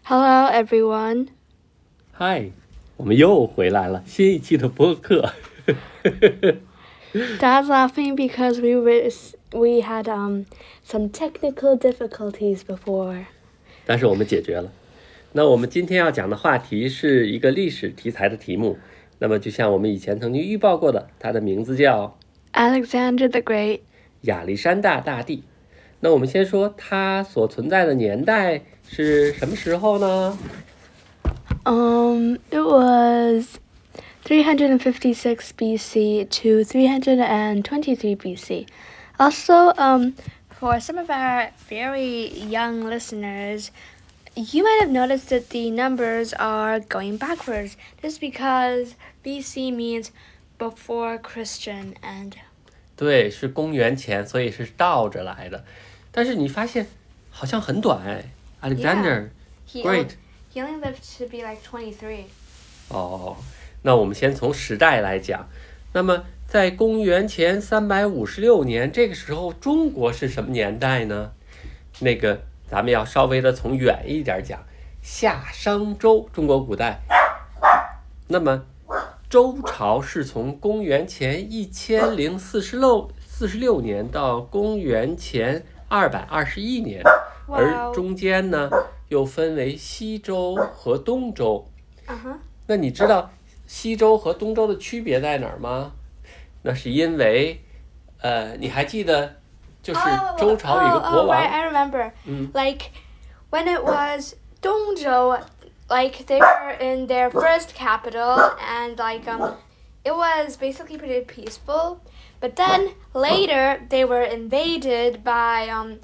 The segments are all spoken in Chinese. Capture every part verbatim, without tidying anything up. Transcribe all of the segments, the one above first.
Hello, everyone. Hi, 我们又回来了，新一期的播客。 Dad's laughing because we were, we had um some technical difficulties before. 但是我们解决了。那我们今天要讲的话题是一个历史题材的题目。那么就像我们以前曾经预报过的，它的名字叫 Alexander the Great. 亚历山大大帝。那我们先说它所存在的年代是什么时候呢？ Um, it was three hundred fifty-six B C to three hundred twenty-three B C. Also, um, for some of our very young listeners, you might have noticed that the numbers are going backwards. This is because B C means before Christian and 对，是公元前，所以是倒着来的。但是你发现好像很短哎 ，Alexander he Great。 he only lived to be like twenty-three. 哦，那我们先从时代来讲。那么在公元前三百五十六年，这个时候中国是什么年代呢？那个咱们要稍微的从远一点讲，夏商周，中国古代。那么周朝是从公元前一千零四十六四十六年到公元前二百二十一年，而中间呢又分为西周和东周。 Uh-huh. 那你知道西周和东周的区别在哪儿吗？那是因为，呃，你还记得，就是周朝有一个国王。 Oh, oh, oh, right, I remember. 嗯 Like when it was Dongzhou, like they were in their first capital, and like um, it was basically pretty peaceful. But then later they were invaded by um,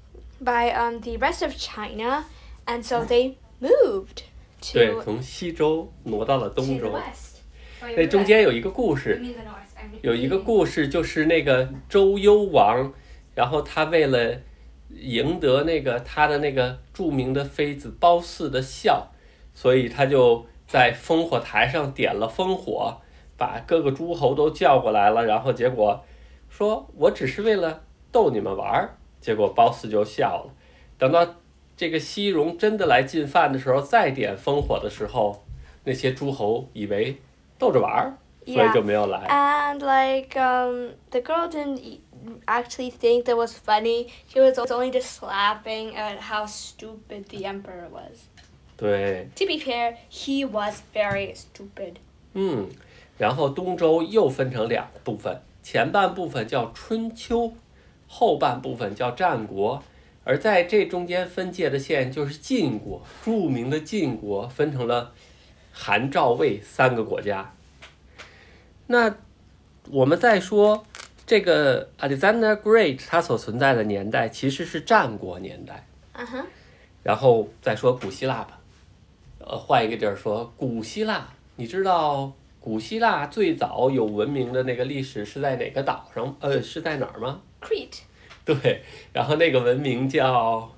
by um the rest of China, and so they moved 对， to 从西周挪到了 to 东 the 周。 west. Oh, 那 you're 中 right. 间有一个故 You 事， mean the north? I mean, 有一个故事就是那个周幽王，然后他为了赢得那个他的那个著名的妃子褒姒的笑，所以他就在烽火台上点了烽火，把各个诸侯都叫过来了，然后结果说我只是为了逗你们玩儿，结果褒姒就笑了。等到这个西戎真的来进饭的时候，再点烽火的时候，那些诸侯以为逗着玩儿，所以就没有来。 And like um, the girl didn't e- actually think that was funny. She was only just laughing at how stupid the emperor was. 对， To be fair, he was very stupid. 嗯，然后东周又分成两部分，前半部分叫春秋，后半部分叫战国。而在这中间分界的线就是晋国，著名的晋国分成了韩、赵、魏三个国家。那我们再说这个 Alexander Great 他所存在的年代其实是战国年代。 Uh-huh. 然后再说古希腊吧，呃，换一个地儿说古希腊。你知道古希腊最早有文明的那个历史是在哪个岛上？呃，是在哪儿吗？ Crete. 对，然后那个文明叫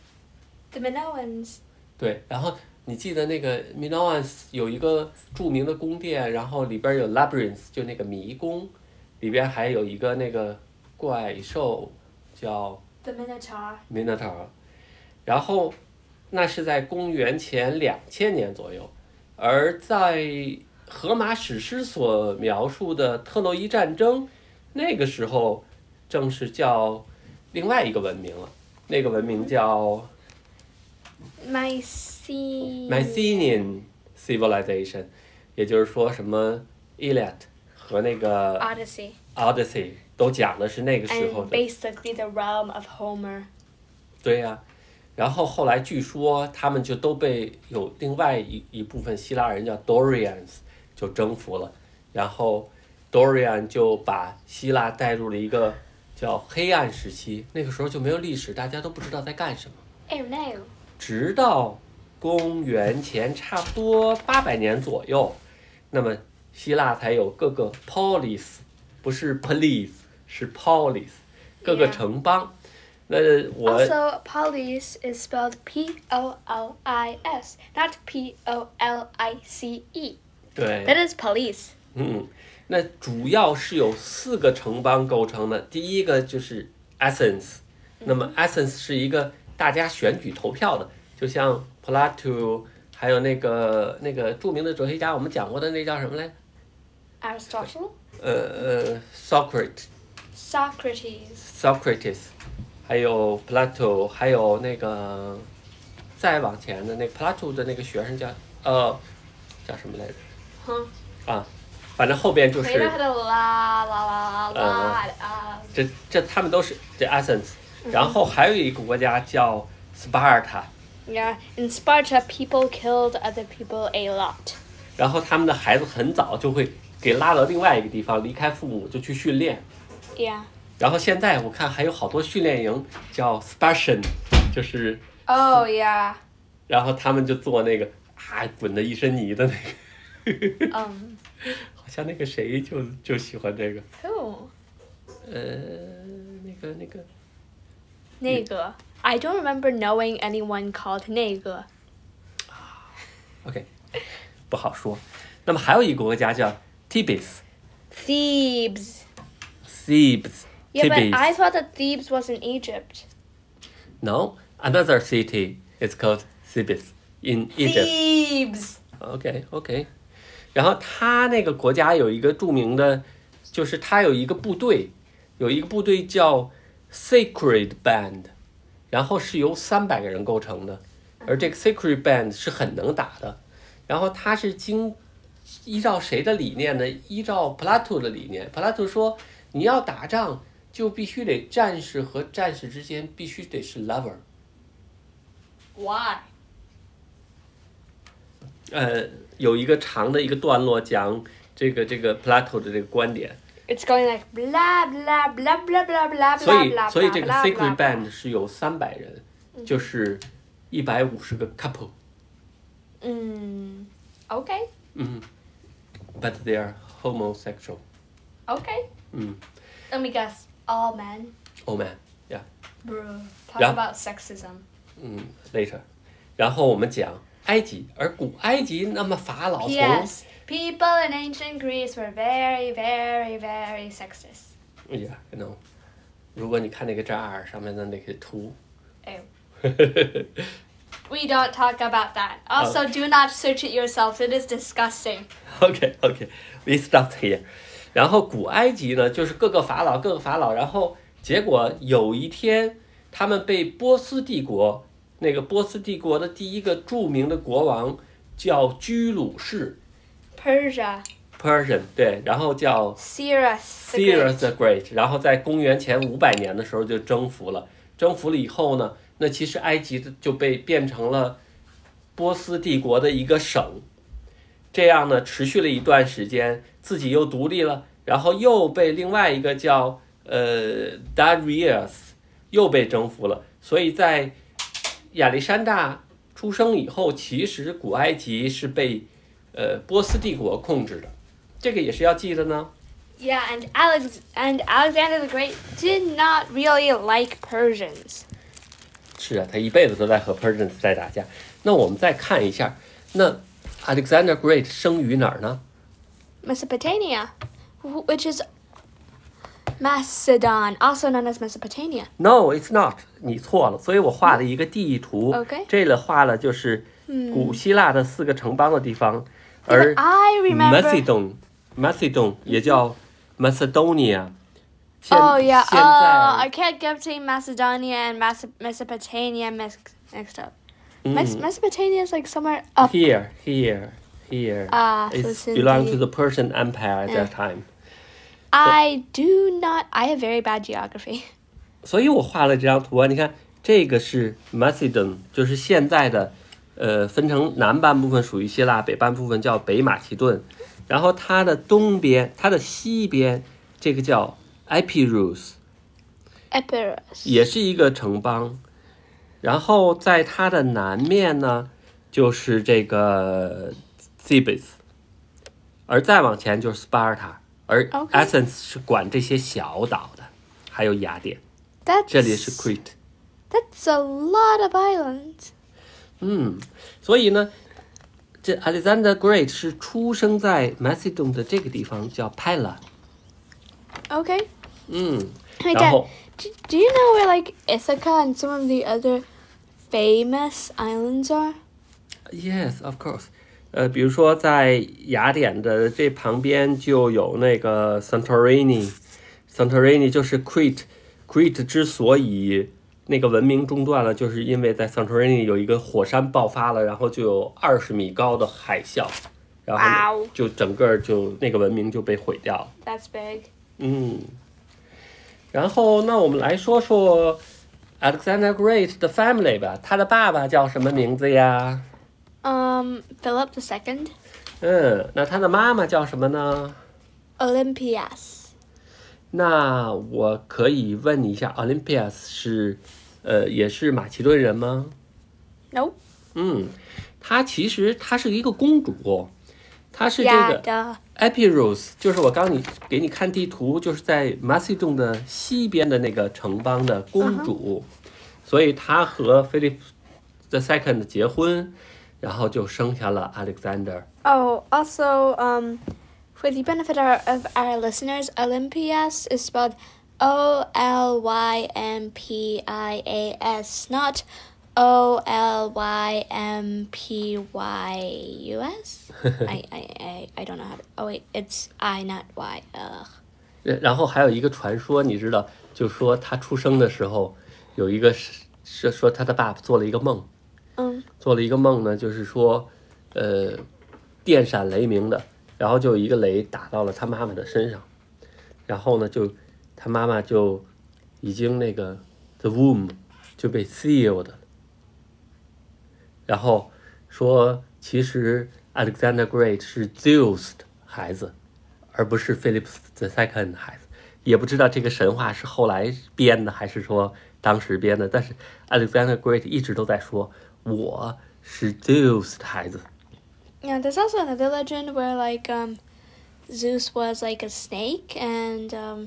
The Minoans. 对，然后你记得那个 Minoans 有一个著名的宫殿，然后里边有 labyrinth 就那个迷宫，里边还有一个那个怪兽叫 The Minotaur. Minotaur， 然后那是在公元前两千年左右，而在荷马史诗所描述的特洛伊战争，那个时候正是叫另外一个文明了，那个文明叫 Mycenaean. Mycenaean Civilization， 也就是说什么 Iliad 和那个 Odyssey. Odyssey 都讲的是那个时候 And 的。 basically the realm of Homer. 对呀、啊，然后后来据说他们就都被有另外一一部分希腊人叫 Dorians 就征服了，然后 Dorian 就把希腊带入了一个叫黑暗时期，那个时候就没有历史，大家都不知道在干什么。 Oh no. 直到公元前差不多八百年左右，那么希腊才有各个 polis， 不是 police， 是 polis， 各个 Yeah. 城邦。那我 Also, police is spelled P O L I S, not P O L I C E. 对， That is police. 嗯，那主要是由四个城邦构成的。第一个就是 Athens， 那么 Athens 是一个大家选举投票的， 就像 Plato， 还有那个那个著名的哲学家，我们讲过的那叫什么来 Aristotle. 呃呃 ，Socrates。 Socrates. Socrates， 还有 Plato， 还有那个再往前的那个 Plato 的那个学生叫呃叫什么来着？ 哼。 啊，反正后边就是回答的啦啦啦啦啦啊。 这这他们都是这 Athens， 然后还有一个国家叫 Sparta。 Yeah, in Sparta, people killed other people a lot. 然后他们的孩子很早就会给拉到另外一个地方，离开父母就去训练。 Yeah. 然后现在我看还有好多训练营叫 Spartan， 就是 Oh yeah. 然后他们就做那个啊滚得一身泥的那个。 um. 好像那个谁就就喜欢这个。 Who? 呃，那个那个。 那个 I don't remember knowing anyone called 那个。 OK， 不好说。那么还有一个国家叫 Thebes。 Thebes. Thebes. Yeah, Thebes. but I thought that Thebes was in Egypt. No, another city is called Thebes in Egypt. Thebes. OK OK。然后他那个国家有一个著名的，就是他有一个部队，有一个部队叫 Sacred Band， 然后是由三百个人构成的，而这个 Sacred Band 是很能打的。然后他是经依照谁的理念呢？依照 Plato 的理念。Plato 说，你要打仗就必须得战士和战士之间必须得是 lover。 Why? 呃，有一个长的一个段落讲这个这个 Plato 的这个观点。 It's going like blah blah blah blah blah blah 所 blah 以 blah 所以这个 blah Sacred blah Band 是有三百人，就是一百五十个 couple。 嗯 Okay. 嗯 ，but they are homosexual。 Okay. 嗯 Let me guess. All men. ，Oh man， yeah。 Bro. Talk Yeah. about sexism. 嗯 ，later。然后我们讲埃及，而古埃及那么法老从 Yes. People in ancient Greece were very, very, very sexist. Yeah, I know。如果你看那个扎尔上面的那个图。 Ew. We don't talk about that. Also, do not search it yourself. It is disgusting. OK OK, we stop here。然后古埃及呢，就是各个法老，各个法老，然后结果有一天，他们被波斯帝国，那个波斯帝国的第一个著名的国王叫居鲁士 Persia. ，Persian， 对，然后叫 Cyrus. the Cyrus Great. the Great， 然后在公元前五百年的时候就征服了，征服了以后呢，那其实埃及就被变成了波斯帝国的一个省。这样呢，持续了一段时间，自己又独立了，然后又被另外一个叫呃 Darius 又被征服了。所以在亚历山大出生以后，其实古埃及是被呃波斯帝国控制的，这个也是要记得呢。 Yeah, and Alex and Alexander the Great did not really like Persians. 是啊，他一辈子都在和 Persians 在打架。那我们再看一下，那 Alexander Great 生于哪儿呢？ Mesopotamia, wh- which is Macedon, also known as Mesopotamia. No, it's not. 你错了，所以我画了一个地图。 OK 这里画了就是古希腊的四个城邦的地方，而 I remember. Macedon, Macedon 也叫 Macedonia。现 Oh yeah. 现 Oh, I 在 can't get between Macedonia and Mas- Mesopotamia mix- mixed up. 嗯 Mes- Mesopotamia is like somewhere up. here, here, here. Ah, so It it's in belonged to the- the Persian Empire at that Yeah. time. I do not. I have very bad geography. 所以我画了这张图啊，你看这个是 Macedon， 就是现在的，呃，分成南半部分属于希腊，北半部分叫北马其顿，然后它的东边，它的西边，这个叫 Epirus， Epirus. 也是一个城邦，然后在它的南面呢，就是这个 Thebes， 而再往前就是 Sparta， 而 OK Athens 是管这些小岛的，还有雅典， That's 这里是 Crete。 That's a lot of islands. 嗯，所以呢，这 Alexander Great 是出生在 Macedon 的这个地方，叫 Pella。 Okay. 嗯， Hey, 然后 Dad, do, do you know where like Ithaca and some of the other famous islands are? Yes, of course. 呃，比如说在雅典的这旁边就有那个 Santorini。Santorini 就是 Crete。Crete 之所以那个文明中断了，就是因为在 Santorini 有一个火山爆发了，然后就有二十米高的海啸，然后 Wow. 就整个就那个文明就被毁掉了。 That's big. 嗯，然后那我们来说说 Alexander Great 的 family 吧，他的爸爸叫什么名字呀？ Um, Philip the Second. 嗯，那他的妈妈叫什么呢？ Olympias. 那我可以问你一下 ，Olympias 是，呃，也是马其顿人吗？ Nope. 嗯，她其实她是一个公主，她是这 Yeah, 个 duh. Epirus， 就是我刚你给你看地图，就是在马其顿的西边的那个城邦的公主， uh-huh. 所以她和 Philip the Second 结婚，然后就生下了 Alexander。 Oh, also, um, for the benefit of our listeners, Olympias is spelled O L Y M P I A S, not O L Y M P Y U S. I, I, I, I don't know how to... Oh, wait, it's I, not Y. Ugh. 然后还有一个传说，你知道，就说他出生的时候，有一个是是说他的爸爸做了一个梦， 嗯， 做了一个梦呢，就是说，呃，电闪雷鸣的，然后就有一个雷打到了他妈妈的身上，然后呢，就他妈妈就已经那个 the womb 就被 sealed 了，然后说其实 Alexander Great 是 Zeus 的孩子，而不是 Philip the Second 的孩子，也不知道这个神话是后来编的还是说当时编的，但是 Alexander Great 一直都在说我是 Zeus 的孩子。 Yeah, there's also another legend where, like, um, Zeus was, like, a snake and, um,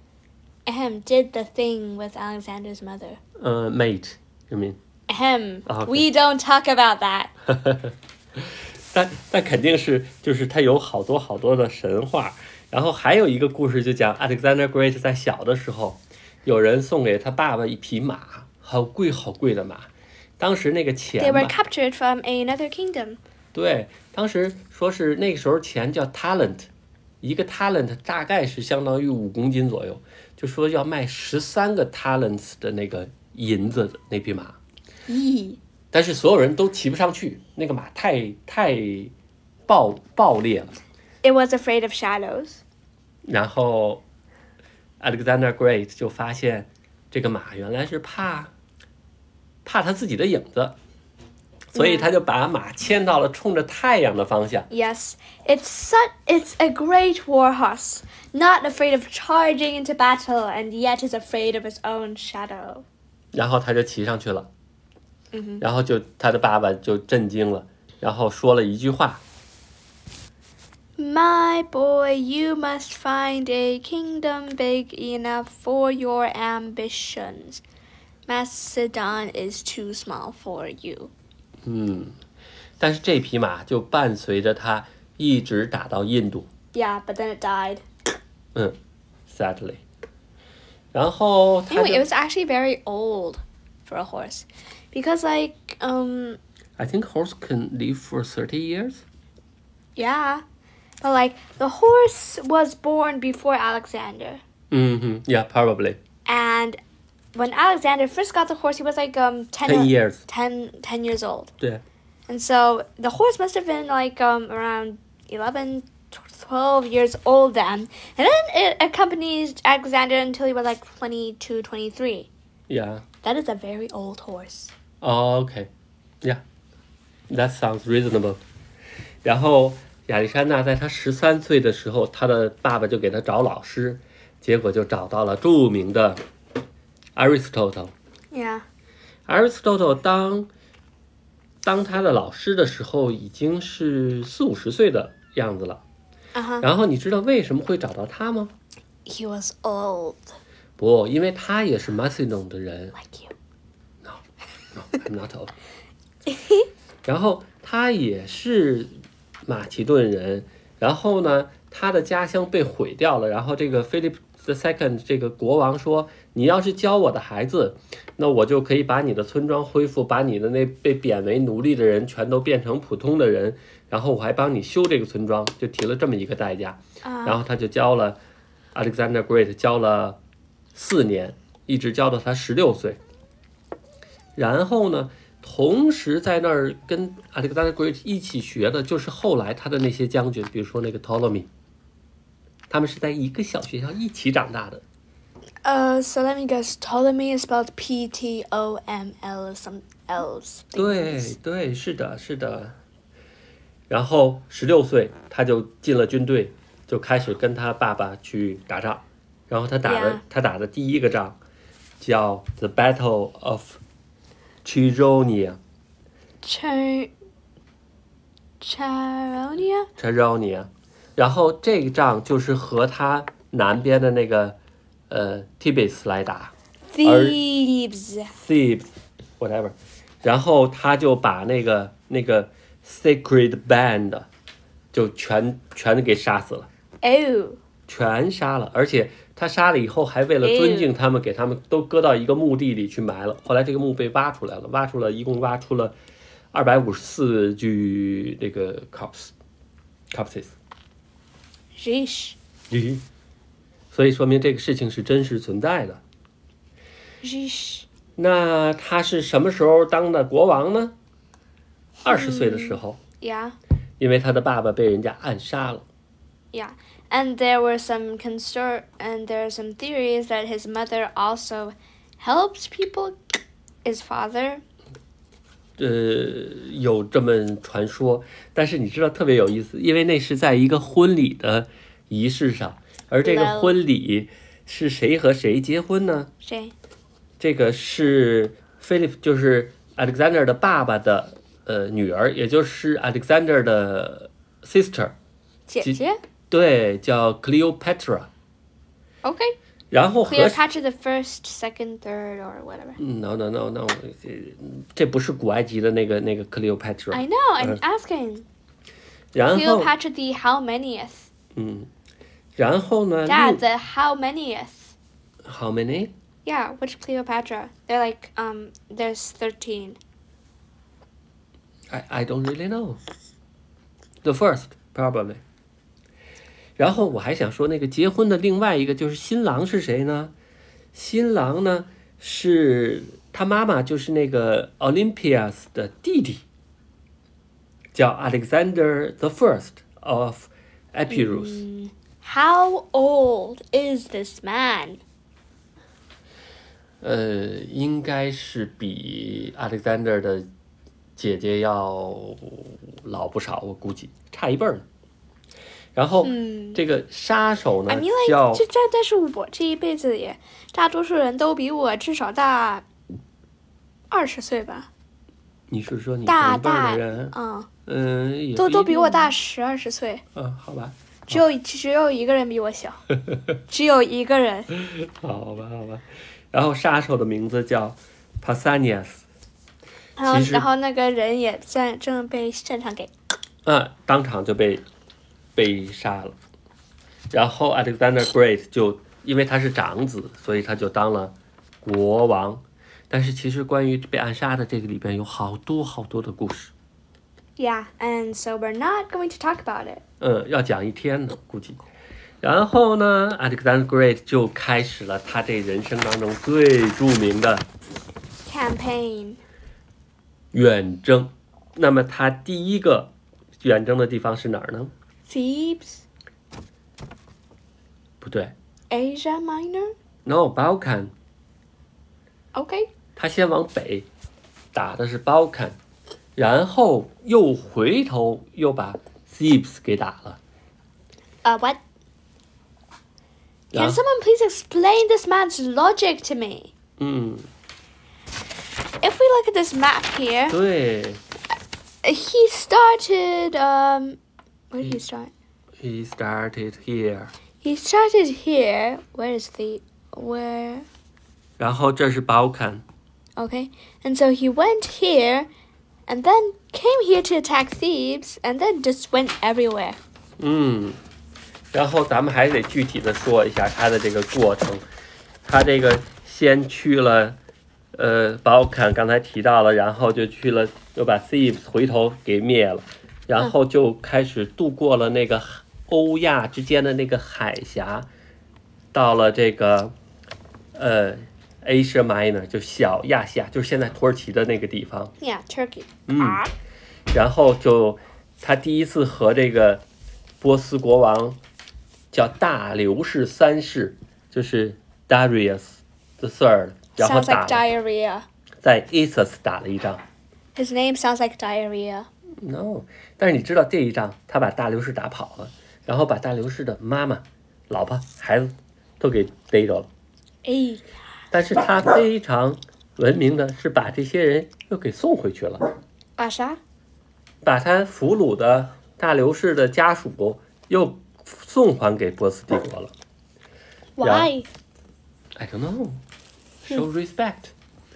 ahem, did the thing with Alexander's mother. 呃 mate, you mean? Ahem. Oh, okay. We don't talk about that. 但但肯定是，就是他有好多好多的神话，然后还有一个故事就讲 Alexander Great 在小的时候，有人送给他爸爸一匹马，好贵好贵的马，当时那个钱 They 吧 were captured from another kingdom. 对，当时说是那个时候钱叫 talent， 一个 talent 大概是相当于五公斤左右，就说要卖十三个 talents 的那个银子的那匹马。 Yee. 但是所有人都骑不上去，那个马太太暴暴烈了。 It was afraid of shadows. 然后 Alexander Great 就发现这个马原来是怕怕他自己的影子，所以他就把马牵到了冲着太阳的方向。 Yes, it's such, it's a great war horse, not afraid of charging into battle, and yet is afraid of its own shadow. 然后他就骑上去了。 Mm-hmm. 然后就他的爸爸就震惊了，然后说了一句话 My boy, you must find a kingdom big enough for your ambitions. Macedon is too small for you. 嗯，但是这匹马就伴随着他一直打到印度。 Yeah, but then it died. 嗯 sadly. 然后他就 Anyway, it was actually very old for a horse. Because, like, um... I think horse can live for thirty years. Yeah. But, like, the horse was born before Alexander. Mm-hmm. Yeah, probably. And when Alexander first got the horse, he was, like, um... ten, ten years. ten, ten years old. 对。 And so the horse must have been, like, um, around eleven, twelve years old then. And then it accompanied Alexander until he was, like, twenty-two, twenty-three. Yeah. That is a very old horse. Oh, okay. Yeah. That sounds reasonable. 然后亚历山大在他十三岁的时候，他的爸爸就给他找老师，结果就找到了著名的 Aristotle。 Yeah. Aristotle 当当他的老师的时候，已经是四五十岁的样子了。 Uh-huh. 然后你知道为什么会找到他吗？ He was old. 不，因为他也是 Macedon 的人。 Like you. No, no, I'm not old. 然后他也是马其顿人，然后呢，他的家乡被毁掉了，然后这个 Philip the second 这个国王说，你要是教我的孩子，那我就可以把你的村庄恢复，把你的那被贬为奴隶的人全都变成普通的人，然后我还帮你修这个村庄，就提了这么一个代价。 啊然后他就教了 Alexander Great 教了四年，一直教到他十六岁。然后呢，同时在那儿跟 Alexander Great 一起学的就是后来他的那些将军，比如说那个 Ptolemy， 他们是在一个小学校一起长大的。 Uh, so let me guess. Ptolemy is spelled P T O M L some else. 对对，是的，是的。然后十六岁他就进了军队，就开始跟他爸爸去打仗。然后他打的 Yeah. 他打的第一个仗叫 The Battle of Chironia。 Char... Charonia? Charonia。 然后这个仗就是和他南边的那个呃 Thebes 来打 Thebes. Thebes whatever。 然后他就把那个那个 Sacred Band 就全全给杀死了， Oh. 全杀了。而且他杀了以后还为了尊敬他们，给他们都搁到一个墓地里去埋了。后来这个墓被挖出来了，挖出了一共挖出了二百五十四具那个 corpse corpses。 Sheesh. 咦，所以说明这个事情是真实存在的。 Sheesh. 那他是什么时候当的国王呢？二十岁的时候， Yeah. 因为他的爸爸被人家暗杀了。 Yeah. And there were some constor and there are some theories that his mother also helped people. His father. 呃，有这么传说，但是你知道特别有意思，因为那是在一个婚礼的仪式上，而这个婚礼是谁和谁结婚呢？ 谁？ 这个是 Philip， 就是 Alexander 的爸爸的呃女儿，也就是 Alexander 的 sister， 姐姐？ 对，叫 Cleopatra。 Okay. 然后和 Cleopatra the first, second, third, or whatever. no no no no， 这不是古埃及的那个那个 Cleopatra。 I know, I'm asking. 然后 Cleopatra the how manyth? 嗯，然后呢 Dad, the how manyth? How many? Yeah, which Cleopatra? They're like, um, there's thirteen. I I don't really know. The first probably. 然后我还想说，那个结婚的另外一个就是新郎是谁呢？新郎呢是他妈妈，就是那个 Olympias 的弟弟，叫 Alexander the First of Epirus。 How old is this man? 呃，应该是比 Alexander 的姐姐要老不少，我估计差一辈儿呢。然后、 嗯这个杀手呢 I mean, 叫 like, 这这但是我这一辈子也，大多数人都比我至少大二十岁吧。 你是说你大同辈儿大的人？ 嗯， 嗯，也都不一定都比我大十二十岁， 嗯，好吧， 只有只有一个人比我小，只有一个人。 好吧，好吧。然后杀手的名字叫 Pausanias。 然后其实然后那个人也在正被现场给啊，当场就被被杀了。然后 Alexander Great 就因为他是长子，所以他就当了国王。但是其实关于被暗杀的这个里边有好多好多的故事， Yeah, and so we're not going to talk about it. 嗯，要讲一天呢，估计。然后呢 ，Alexander Great 就开始了他这人生当中最著名的 Campaign. 远征。那么他第一个远征的地方是哪儿呢？ Thebes. 不对 Asia Minor. ，No Balkan。 Okay. 他先往北打的是 Balkan， 然后又回头又把 Thebes 给打了。 Uh, what? 然 Can someone please explain this man's logic to me? 嗯， If we look at this map here, 对 he started, um, where did he start? ，He started here， He started here. Where is the, where? 然后这是 Balkan， Okay. And so he went here, and then came here to attack Thebes, and then just went everywhere. 嗯， 然后咱们还得具体的说一下它的这个过程。他这个先去了，呃，宝坎刚才提到了，然后就去了，又把 Thebes 回头给灭了，然后就开始渡过了那个欧亚之间的那个海峡，到了这个呃 Asia Minor， 就小亚细亚，就是现在土耳其的那个地方。 Yeah, Turkey. 嗯，然后就他第一次和这个波斯国王叫大流士三世，就是 Darius the Third， 然后 Sounds 打 like diarrhea. 在 Issus 打了一仗。 His name sounds like diarrhea. No， 但是你知道这一仗他把大流士打跑了，然后把大流士的妈妈、老婆、孩子都给逮着了。 哎， 但是他非常文明的是把这些人又给送回去了， 啊啥？ 把他俘虏的大流士的家属又送还给波斯帝国了。 Why? I don't know. Show respect.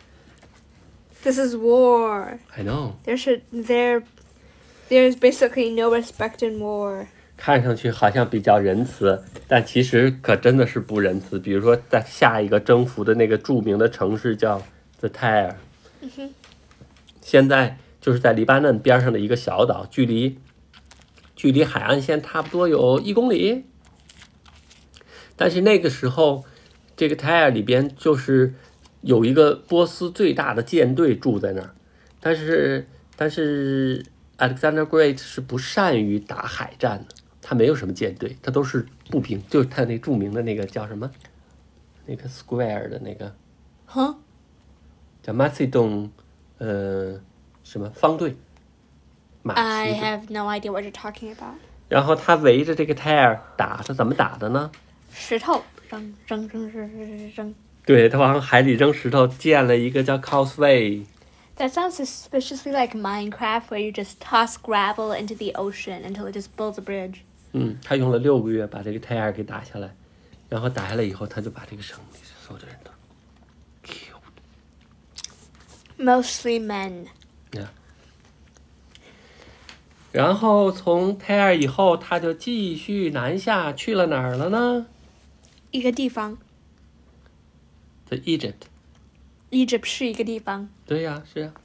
This is war. I know. There should there there's basically no respect in war. 看上去好像比较仁慈，但其实可真的是不仁慈。比如说，在下一个征服的那个著名的城市叫 The Tyre， 嗯哼， 现在就是在黎巴嫩边上的一个小岛，距离距离海岸线差不多有一公里。但是那个时候，这个 Tyre 里边就是有一个波斯最大的舰队住在那儿，但是但是 Alexander Great 是不善于打海战的。他没有什么舰队，他都是步兵，就是他那著名的那个叫什么，那个 square 的那个， 哈， 叫 Macedon， 呃，什么方队，马其 I 顿。 have no idea what you're talking about. 然后他围着这个 Tyre 打，他怎么打的呢？ 石头扔扔扔扔扔扔。 对，他往海里扔石头，建了一个叫 Causeway。 That sounds suspiciously like Minecraft, where you just toss gravel into the ocean until it just builds a bridge. 嗯，他用了六个月把这个 Tyre 给打下来，然后打下来以后，他就把这个城里所有的人都 killed。 Mostly men. Yeah. 然后从 Tyre 以后，他就继续南下去了哪儿了呢？ 一个地方。 在 Egypt。 Egypt 是一个地方。 对呀、啊，是啊。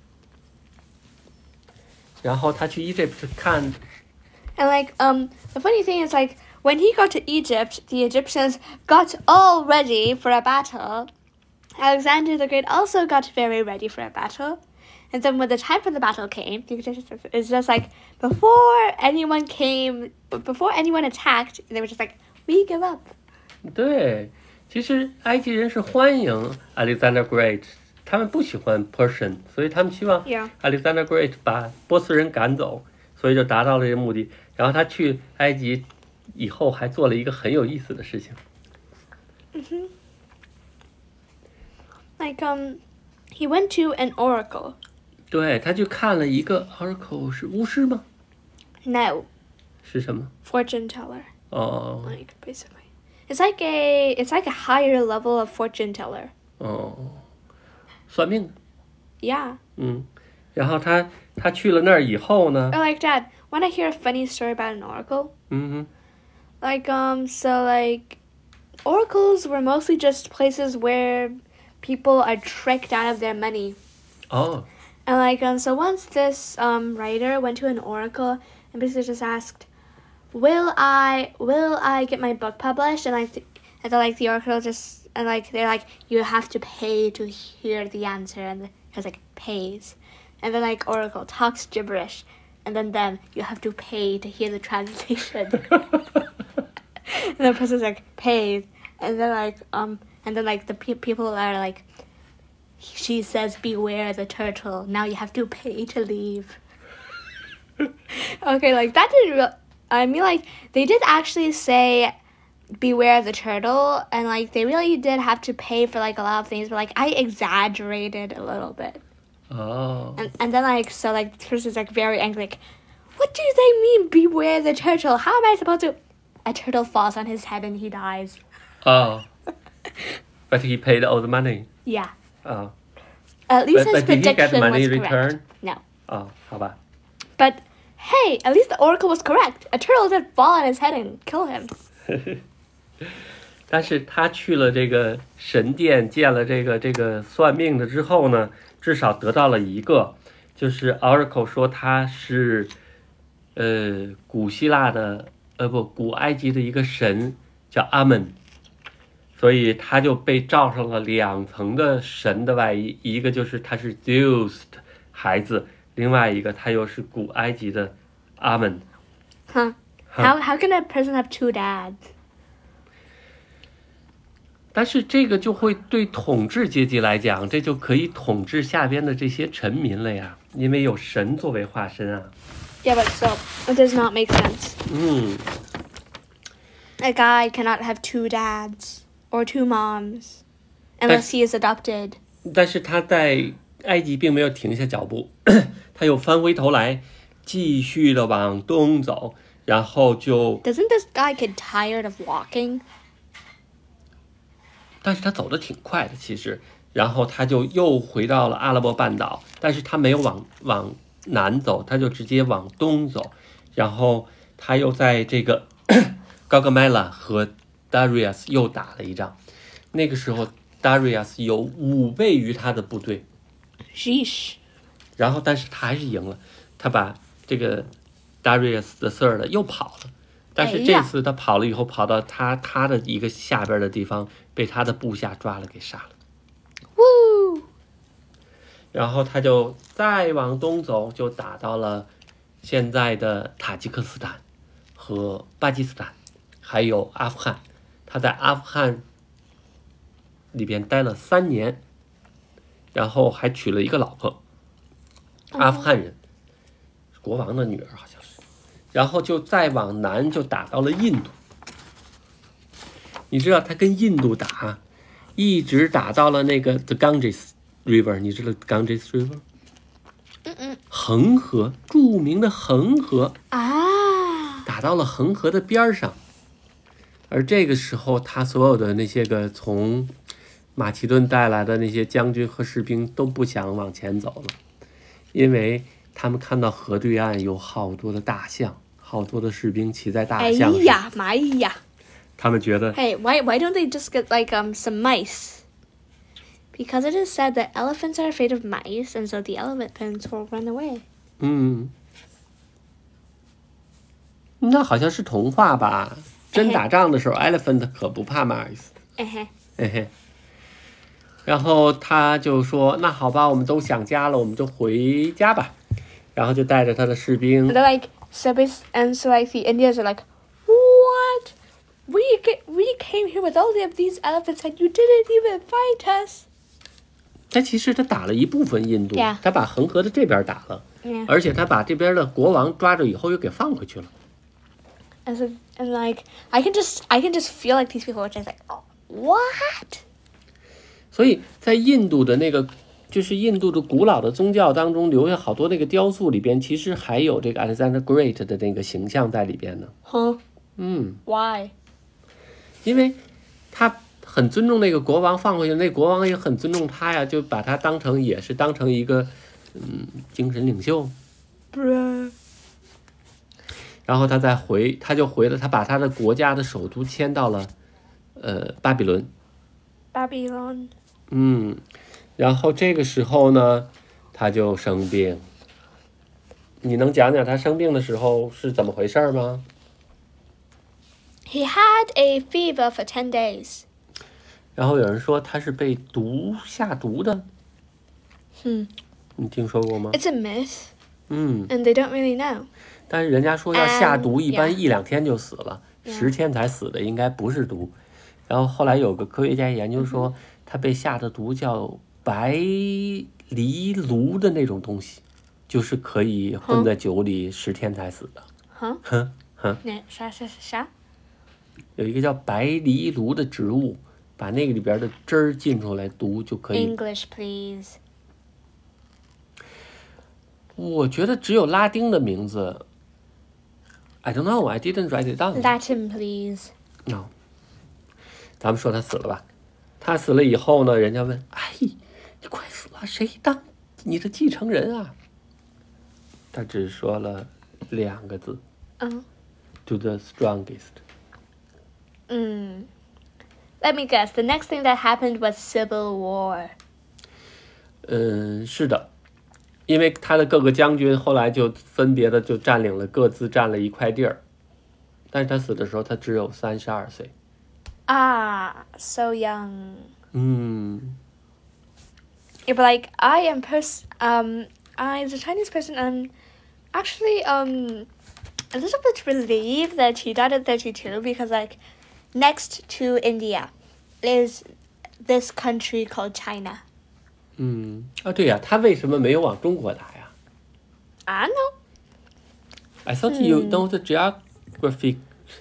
然后他去 Egypt 看。 And like, um, the funny thing is, like, when he got to Egypt, the Egyptians got all ready for a battle. Alexander the Great also got very ready for a battle. And then when the time for the battle came, it's just like, before anyone came, before anyone attacked, they were just like, we give up. 对，其实埃及人是欢迎 Alexander Great， 他们不喜欢 Persian， 所以他们希望 Yeah. Alexander Great 把波斯人赶走，所以就达到了这个目的。然后他去埃及以后还做了一个很有意思的事情。 Mm-hmm. Like, um, he went to an oracle. 对，他去看了一个 oracle， 是巫师吗？ No, 是什么？ fortune teller. 哦 Like, basically. It's like a, it's like a higher level of fortune teller. 哦，算命的。 Yeah. 嗯，然后他他去了那儿以后呢， Or like, Dad, want to hear a funny story about an oracle? 嗯哼， Like, um, so, like, oracles were mostly just places where people are tricked out of their money. 哦， And, like, um, so once this, um, writer went to an oracle and basically just asked, will I, will I get my book published? And, like, th- and then, like, the oracle just, and, like, they're like, you have to pay to hear the answer. And it was, like, pays. And then, like, oracle talks gibberish. And then, then you have to pay to hear the translation. And the person's like, pays. And then, like, um, and then, like, the pe- people are like, she says, beware the turtle. Now you have to pay to leave. Okay, like, that didn't real. I mean, like, they did actually say, beware the turtle. And, like, they really did have to pay for, like, a lot of things. But, like, I exaggerated a little bit. 哦， And, and then, like, so, like, the person's, like, very angry. Like, what do they mean, beware the turtle? How am I supposed to... A turtle falls on his head and he dies. 哦，but he paid all the money. Yeah. 啊， At least but his but did he get prediction money was correct. return? No. 啊，好吧。 But, hey, at least the oracle was correct. A turtle did fall on his head and kill him. 但是他去了这个神殿，见了这个这个算命的之后呢，至少得到了一个，就是 Oracle 说他是，呃，古希腊的，呃不，古埃及的一个神叫阿门，所以他就被罩上了两层的神的外衣，一个就是他是 Zeus 的孩子，另外一个他又是古埃及的阿门。 Huh? How how can a person have two dads? 但是这个就会对统治阶级来讲，这就可以统治下边的这些臣民了呀，因为有神作为化身啊。 Yeah, but so it does not make sense. 嗯， A guy cannot have two dads or two moms unless he is adopted. 但是他在埃及并没有停下脚步，他又翻回头来，继续的往东走，然后就， Doesn't this guy get tired of walking? 但是他走得挺快的，其实，然后他就又回到了阿拉伯半岛，但是他没有往往南走，他就直接往东走，然后他又在这个高格麦拉和 Darius 又打了一仗，那个时候 Darius 有五倍于他的部队， Sheesh. 然后但是他还是赢了，他把这个 Darius the Third 又跑了，但是这次他跑了以后，跑到他他的一个下边的地方，被他的部下抓了给杀了。 Woo! 然后他就再往东走，就打到了现在的塔吉克斯坦和巴基斯坦，还有阿富汗。他在阿富汗里边待了三年，然后还娶了一个老婆，阿富汗人，国王的女儿好像是。然后就再往南就打到了印度。你知道他跟印度打，一直打到了那个 The Ganges River， 你知道 Ganges River？ 嗯嗯。 恒河，著名的恒河啊， 打到了恒河的边上。而这个时候，他所有的那些个从马其顿带来的那些将军和士兵都不想往前走了，因为他们看到河对岸有好多的大象，好多的士兵骑在大象上。 哎呀妈呀！ 他们觉得 Hey, why why don't they just get like um some mice? Because it is said that elephants are afraid of mice, and so the elephants will run away. 嗯，那好像是童话吧？真打仗的时候 ，elephant 可不怕 mice。 嘿嘿， 嘿嘿。然后他就说：“那好吧，我们都想家了，我们就回家吧。”然后就带着他的士兵。 They're like so bas- and so like the Indians are like, what? We get we came here with all of these elephants, and you didn't even fight us. 他其实他打了一部分印度 Yeah. 他把恒河的这边打了 Yeah. 而且他把这边的国王抓着以后又给放回去了。 And so and like I can just I can just feel like these people are just like, oh, what? 所以在印度的那个，就是印度的古老的宗教当中，留下好多那个雕塑里边，其实还有这个 Alexander Great 的那个形象在里边呢。 Huh? 嗯， Why? 因为他很尊重那个国王，放回去，那国王也很尊重他呀，就把他当成也是当成一个嗯精神领袖。 Bruh. 然后他再回，他就回了，他把他的国家的首都迁到了呃巴比伦。 Babylon. 嗯，然后这个时候呢，他就生病。你能讲讲他生病的时候是怎么回事吗？ He had a fever for ten days. 然后有人说他是被毒下毒的， Hmm. 你听说过吗？ It's a myth, 嗯， and they don't really know. 但是人家说要下毒， Um, 一般 yeah. 一两天就死了， Yeah. 十天才死的应该不是毒。然后后来有个科学家研究说，他被下的毒叫白藜芦的那种东西，就是可以混在酒里十天才死的。 Huh? 哼哼， Yeah, sha sha sha. 有一个叫白藜芦的植物，把那个里边的汁儿浸出来毒就可以。 English, please. 我觉得只有拉丁的名字。I don't know, I didn't write it down. Latin, please. No. 咱们说他死了吧？他死了以后呢，人家问：“哎，你快死了，谁当你的继承人啊？”他只说了两个字 Oh. ：“To the strongest。” Mm. Let me guess. The next thing that happened was civil war. 嗯，是的，因为他的各个将军后来就分别的就占领了各自占了一块地儿，但是他死的时候他只有三十二岁。 Ah, so young. 嗯。 Yeah, but like I am pers- um I as a Chinese person I'm actually um a little bit relieved that he died at thirty-two because like next to India is this country called China. 嗯，啊，对呀，他为什么没有往中国打呀 I don't know. ？I thought you know the geography.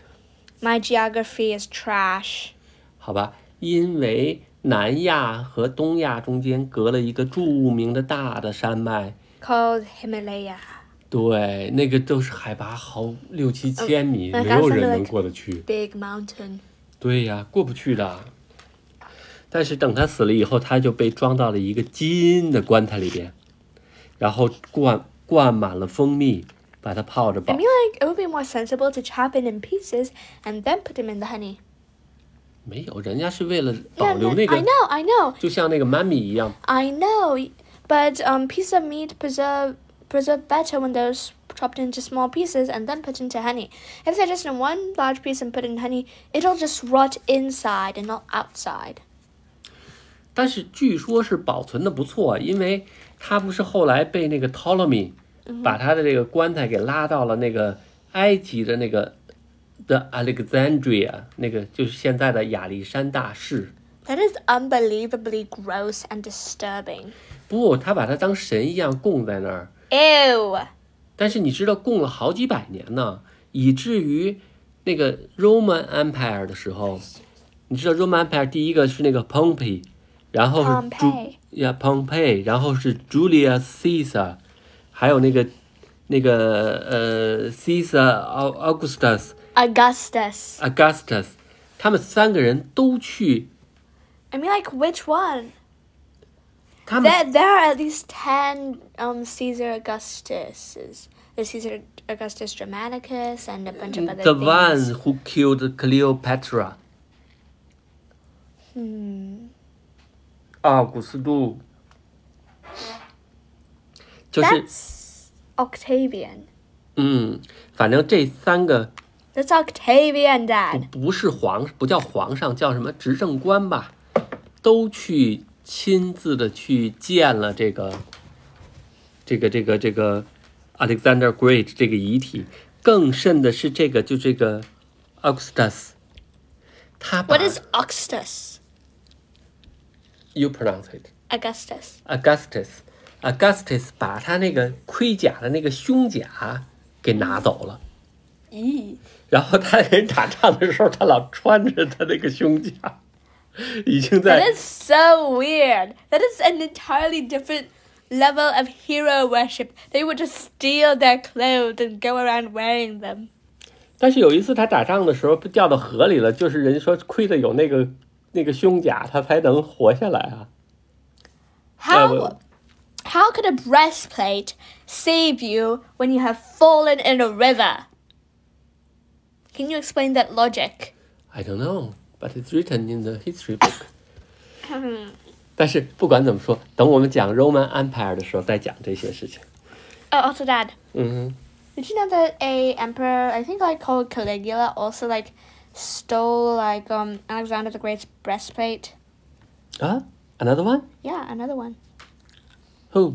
My geography is trash. 好吧，因为南亚和东亚中间隔了一个著名的大的山脉 Called Himalaya. 对，那个都是海拔好六七千米， Oh, 没有人能过得去。 Big mountain. 对呀，过不去的。但是等他死了以后，他就被装到了一个金的棺材里边，然后灌灌满了蜂蜜，把它泡着 I 保。 mean like it would be more sensible to chop it in pieces and then put them in the honey. 没有，人家是为了 Yeah, 保留那 I 个， know, I know. 就像那个妈咪一样。 I know, but um, pieces of meat preserve preserve better when they're s- chopped into small pieces and then put into honey. If they're just in one large piece and put in honey, it'll just rot inside and not outside. 但是据说是保存的不错，因为他不是后来被那个 Ptolemy 把他的这个棺材给拉到了那个埃及的那个的 Alexandria， 那个就是现在的亚历山大市。 That is unbelievably gross and disturbing. 不，他把它当神一样供在那儿。 Ew. 但是你知道供了好几百年呢，以至于那个 Roman Empire 的时候，你知道 Roman Empire 第一个是那个 Pompey， 然后是 Pompey 呀 Pompey， 然后是 Julius Caesar， 还有那个那个呃 Caesar Augustus Augustus. Augustus， 他们三个人都去， I mean, like, which one? 他们 There, there are at least ten um, Caesar Augustuses. There's Caesar Augustus Germanicus and a bunch of other the things. one who killed Cleopatra， Hmm. 奥古斯都，就是 That's Octavian. 嗯，反正这三个 That's Octavian, 不 Dad. 不是皇，不叫皇上，叫什么执政官吧，都去亲自的去见了这个这个这个这个 Alexander Great 这个遗体。更甚的是这个，就这个 Augustus， 他把 What is Augustus? you pronounce it Augustus. Augustus Augustus 把他那个盔甲的那个胸甲给拿走了。 Eee. 然后他人打仗的时候，他老穿着他那个胸甲，已经 That 在 is so weird. That is an entirely different level of hero worship. They would just steal their clothes and go around wearing them. 但是有一次他打仗的时候被掉到河里了，就是人说亏的有那个那个胸甲，他才能活下来啊。 How well- how could a breastplate save you when you have fallen in a river? Can you explain that logic? I don't know, but it's written in the history book. 但是不管怎么说，等我们讲 Roman Empire 的时候再讲这些事情。 Oh, also, Dad, 嗯 did you know that a emperor, I think like called Caligula, also like stole like um Alexander the Great's breastplate? 哼，啊 ，another one? Yeah, another one. Who?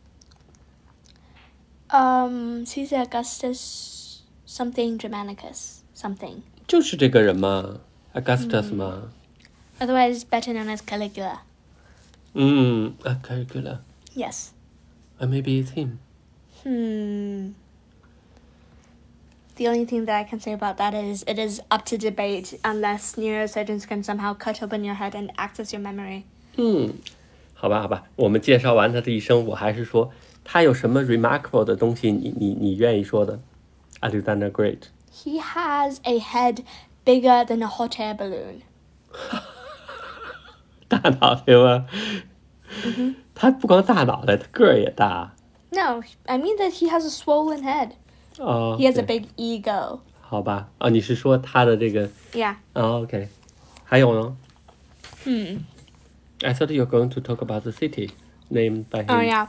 Um, Caesar Augustus something Germanicus something. 就是这个人嘛 ，Augustus 嘛。 Otherwise better known as Caligula. 嗯啊 Caligula. Yes. Uh, maybe it's him. Hmm. The only thing that I can say about that is it is up to debate unless neurosurgeons can somehow cut open your head and access your memory. 嗯，好吧，好吧，我们介绍完他的一生，我还是说他有什么 remarkable 的东西你，你你愿意说的 ？Alexander Great， He has a head bigger than a hot air balloon. 大脑袋吗？他不光大脑袋，他个儿也大。 No, I mean that he has a swollen head. 哦， He has a 对 big ego. 好吧，啊，你是说他的这个 Yeah. 啊 ？OK， 还有呢 Hmm. ？I thought you were going to talk about the city named by him. Oh yeah.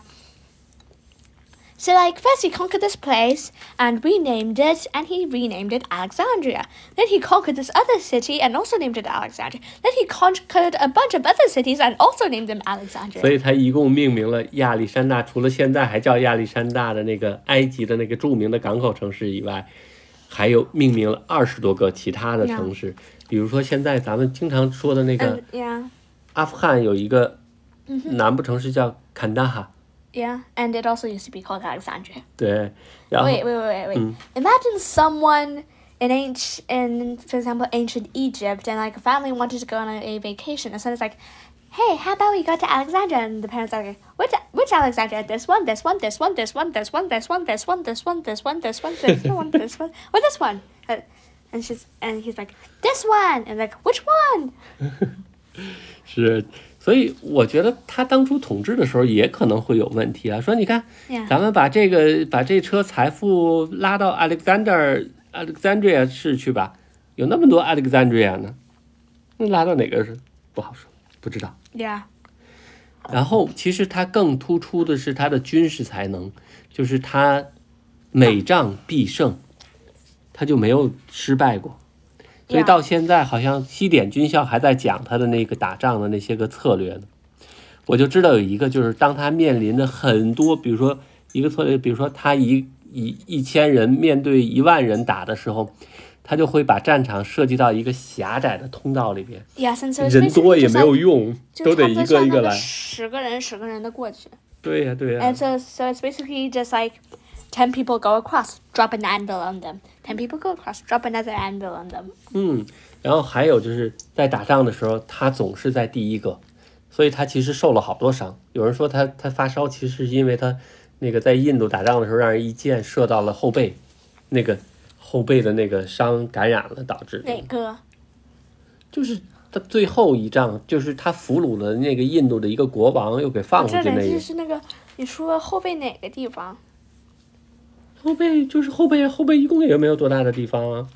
So like first he conquered this place and renamed it, and he renamed it Alexandria. Then he conquered this other city and also named it Alexandria. Then he conquered a bunch of other cities and also named them 所 Alexandria. 以他一共命名了亚历山大，除了现在还叫亚历山大的那个埃及的那个著名的港口城市以外，还有命名了二十多个其他的城市。比如说现在咱们经常说的那个 And yeah, 阿富汗有一个南部城市叫坎大哈， yeah, and it also used to be called Alexandria. 对，然后 Wait, wait, wait, wait, wait. Imagine someone in ancient, in for example, ancient Egypt, and like a family wanted to go on a, a vacation, and so it's like, hey, how about we go to Alexandria? And the parents are like, which which Alexandria? This one, this one, this one, this one, this one, this one, this one, this one, this one, this one, this one, this one, or this one. Uh, And she's and he's like, this one, and like, which one? 是，所以我觉得他当初统治的时候也可能会有问题啊。说你看， Yeah. 咱们把这个把这车财富拉到 Alexander Alexandria 市去吧，有那么多 Alexandria 呢，那拉到哪个是不好说，不知道。 Yeah. 然后其实他更突出的是他的军事才能，就是他每仗必胜，他就没有失败过。所以到现在好像西点军校还在讲他的那个打仗的那些个策略呢。我就知道有一个，就是当他面临着很多，比如说一个策略，比如说他一一一千人面对一万人打的时候，他就会把战场设计到一个狭窄的通道里边， Yes, and so it's 人多 basically 也 just 没有 like 用，都得一个一个来。 十个人十个人的过去。 对呀，对呀。 And so so it's basically just like ten people go across, drop an anvil on them. Ten people go across, drop another anvil on them. 嗯，然后还有就是在打仗的时候，他总是在第一个，所以他其实受了好多伤。有人说他他发烧，其实是因为他那个在印度打仗的时候，让人一箭射到了后背，那个后背的那个伤感染了，导致的。 哪个？ 就是他最后一仗，就是他俘虏了那个印度的一个国王，又给放回去那这里就个。 是那个你说后背哪个地方？ 后背就是后背，后背一共也没有多大的地方啊。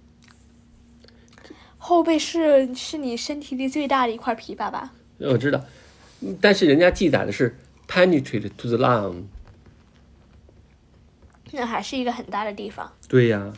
后背是是你身体里最大的一块皮，爸爸。 我知道，但是人家记载的是 penetrate to the lung。 那还是一个很大的地方。 对呀。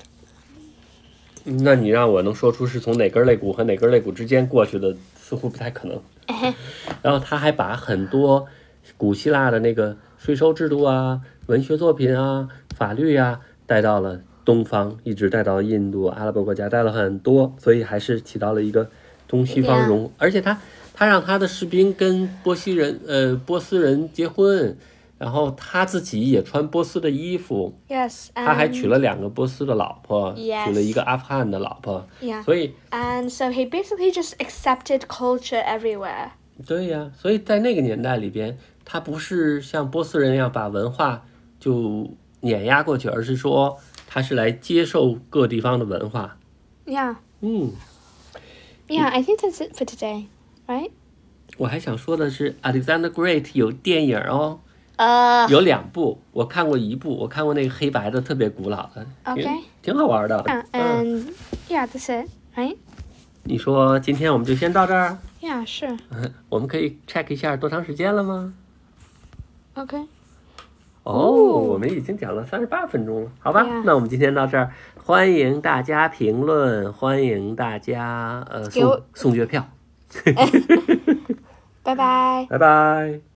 那你让我能说出是从哪根肋骨和哪根肋骨之间过去的，似乎不太可能。然后他还把很多古希腊的那个税收制度啊、文学作品啊、法律啊带到了东方，一直带到印度、阿拉伯国家，带了很多，所以还是起到了一个东西方融。Yeah. 而且他他让他的士兵跟波西人呃波斯人结婚，然后他自己也穿波斯的衣服。 Yes. 他还娶了两个波斯的老婆， yes. 娶了一个阿富汗的老婆。 Yeah. 所以 And so he basically just accepted culture everywhere. 对呀，所以在那个年代里边，他不是像波斯人一样把文化就碾压过去，而是说他是来接受各地方的文化。 Yeah. 嗯。 Yeah, I think that's it for today, right? 我还想说的是 ，Alexander Great 有电影哦。 呃、uh, 有两部，我看过一部，我看过那个黑白的，特别古老的 ，OK， 挺, 挺好玩的。 嗯、uh, ，And yeah, that's it, right? 你说今天我们就先到这儿 ？Yeah, sure. 我们可以 check 一下多长时间了吗 ？OK。 哦，我们已经讲了三十八分钟了，好吧？ Yeah. 那我们今天到这儿，欢迎大家评论，欢迎大家呃送送月票。 拜拜。 拜拜。